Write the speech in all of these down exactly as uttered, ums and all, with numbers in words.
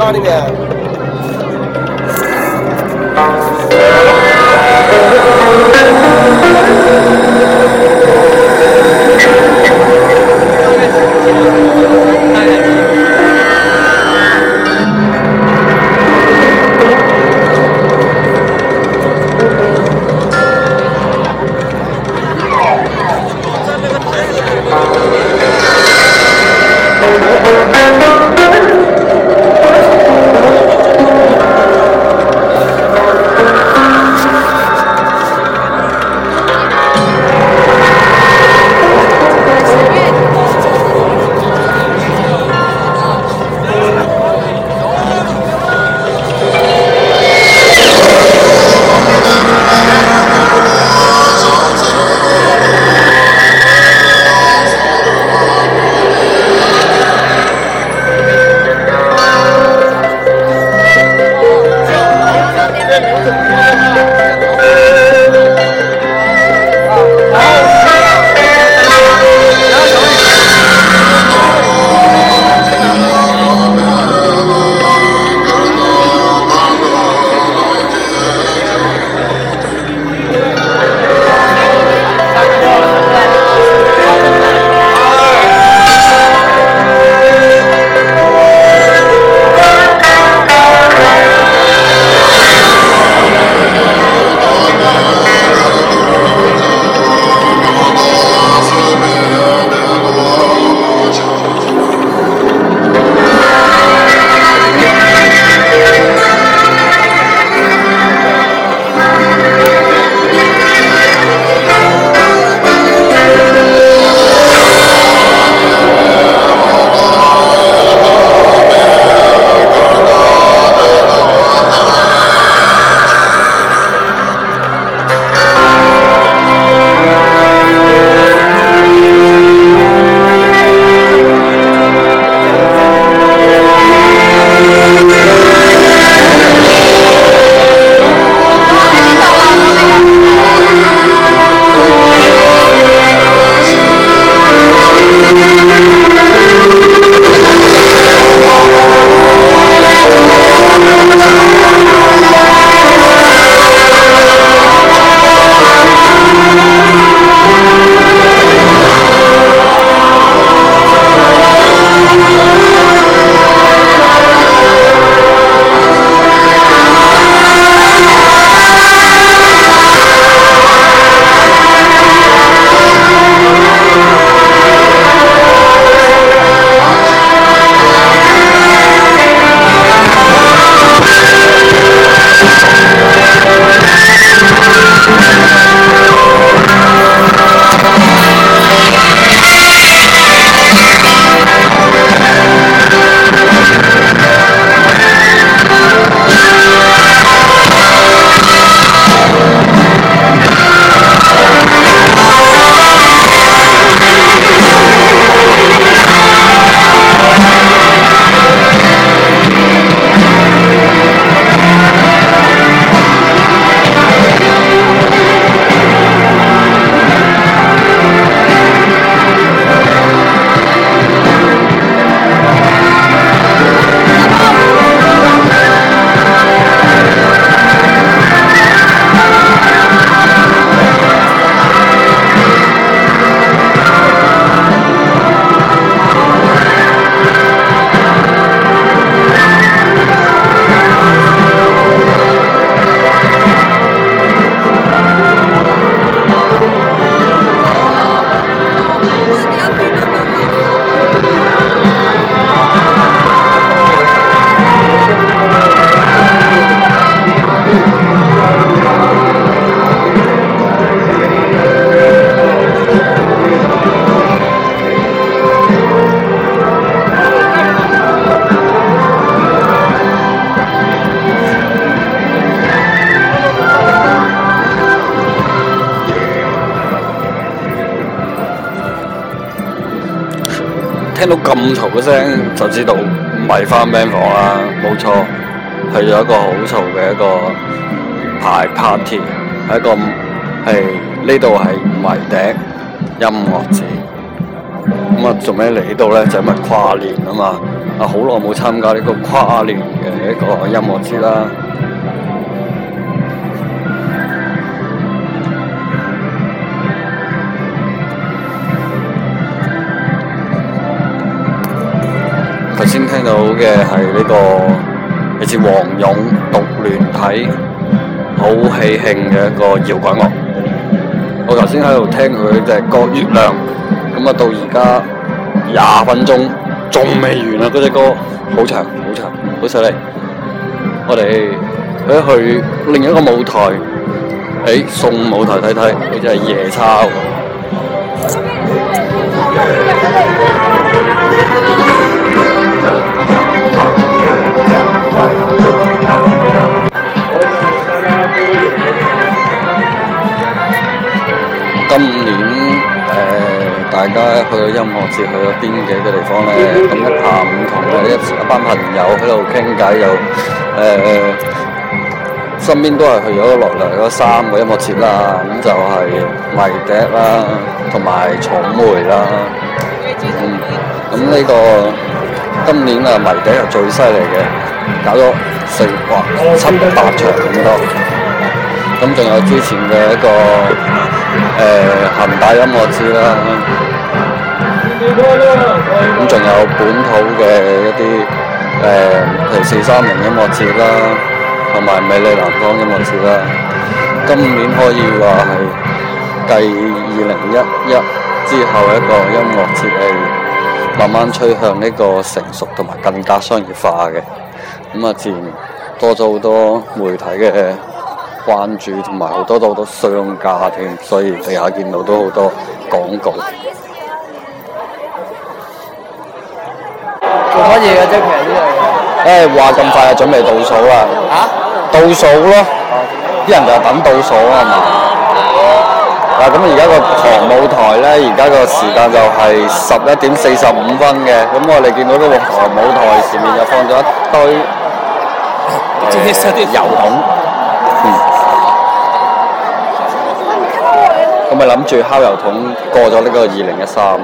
家里面。 聽到咁嘈嘅聲就知道唔係翻 band 房啦，冇錯，係有一個好嘈嘅一個排 party， 係一個係呢度係迷笛音樂節，咁啊做咩嚟呢度咧？就因為跨年啊嘛， 啊好耐冇參加呢個跨年嘅一個音樂節啦。頭先聽到嘅係呢個嚟自黃勇獨聯體好喜慶嘅一個搖滾樂。我頭先喺度聽佢隻歌《月亮》，咁啊到而家廿分鐘仲未完啊！嗰隻歌好長好長，好犀利。我哋去去另一個舞台，誒送舞台睇睇，好似係夜叉喎。今年誒、呃，大家去到音樂節，去到邊幾個地方咧？咁一下午同一一班朋友喺度傾偈，又誒、呃、身邊都係去咗落嚟嗰三個音樂節啦。咁就係迷笛啦，同埋草莓啦。嗯，咁呢、這個今年啊迷笛係最犀利嘅，搞咗四哇七八場咁多。咁仲有之前嘅一個誒恒大音樂節啦，咁仲有本土嘅一啲誒譬如四三零音樂節啦，同埋美麗南方音樂節啦。今年可以話係繼二零一一之後一個音樂節係慢慢趨向呢個成熟同埋更加商業化嘅，咁啊自然多咗好多媒體嘅關注同埋好多好多商家添，所以地下見到都好多廣告。 做乜嘢嘅啫？其實呢樣嘢，誒話咁快就準備倒數啦。 啊？ 倒數咯，啲人就係等倒數啊嘛。嗱咁而家個旁舞台咧，而家個時間就係十一點四十五分嘅。咁我哋見到呢個旁舞台前面就放咗一堆誒油桶。嗯。我咪諗住烤油桶過咗呢個二零一三。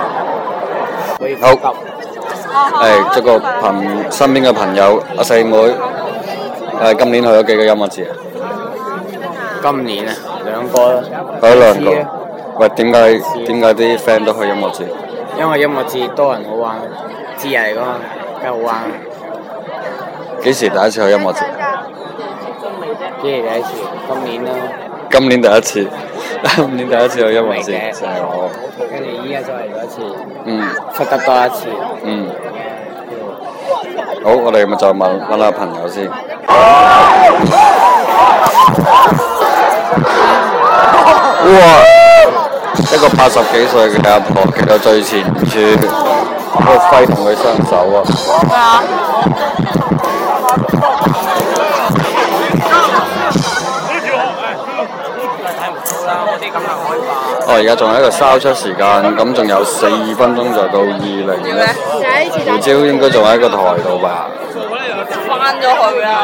好。誒，祝個朋身邊嘅朋友阿四妹，誒今年去咗幾個音樂節啊？ 今年啊，兩個啦。 去咗兩個。喂，點解點解啲 friend 都去音樂節？ 因為音樂節多人好玩，節日嚟㗎嘛，梗係好玩。 幾時第一次去音樂節？ 幾時第一次？今年啦。 今年第一次，今年第一次去音樂節就係我。 跟住依家再嚟咗一次。 嗯。 出得多一次。 嗯。好，我哋咪再問問下朋友先。哇！一個八十幾歲嘅阿婆企到最前處，喺度揮動佢雙手啊！哦，而家仲喺度燒出時間，咁仲有四分鐘就到二零一。胡椒應該仲喺個台度吧？翻咗去啦。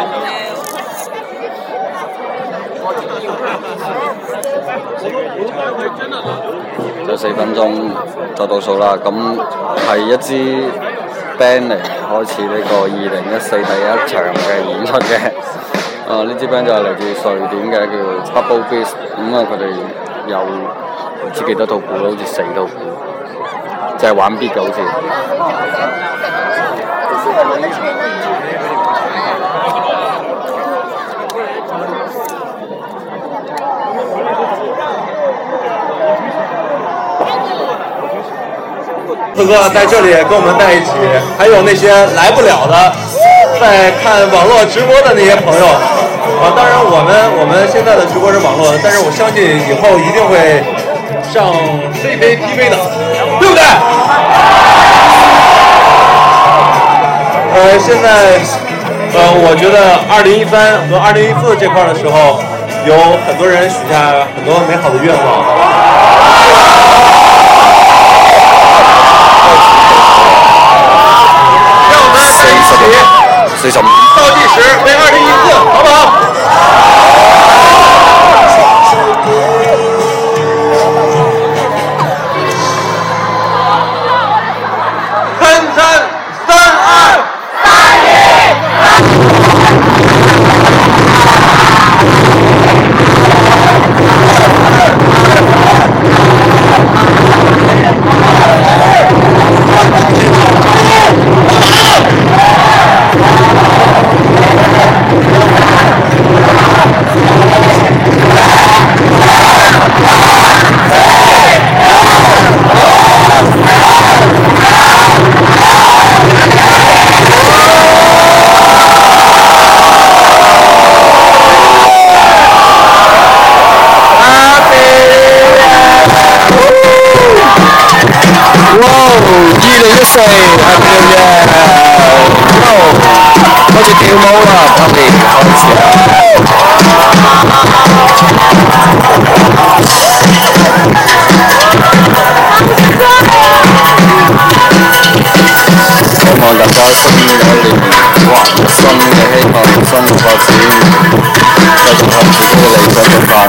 就四分鐘就倒數啦，咁係一支 band 嚟開始呢個二零一四第一場嘅演出嘅。啊，呢支 band 就係嚟自瑞典嘅，叫 Bubble Beast。咁啊，佢哋有唔知幾多套鼓，好似四套鼓，就係玩 beat 嘅好似。 四哥在這裡跟我們在一起，還有那些來不了的，在看網絡直播的那些朋友，啊，當然我們我們現在的直播是網絡的，但是我相信以後一定會上 C K T V 的，對不對？呃，現在，呃，我覺得二零一三和二零一四這塊的時候，有很多人許下很多美好的願望。 四十五倒計時為二零一四，好不好？三三三二。 一年哇，新嘅希望，新嘅發展，繼續向自己嘅理想進發。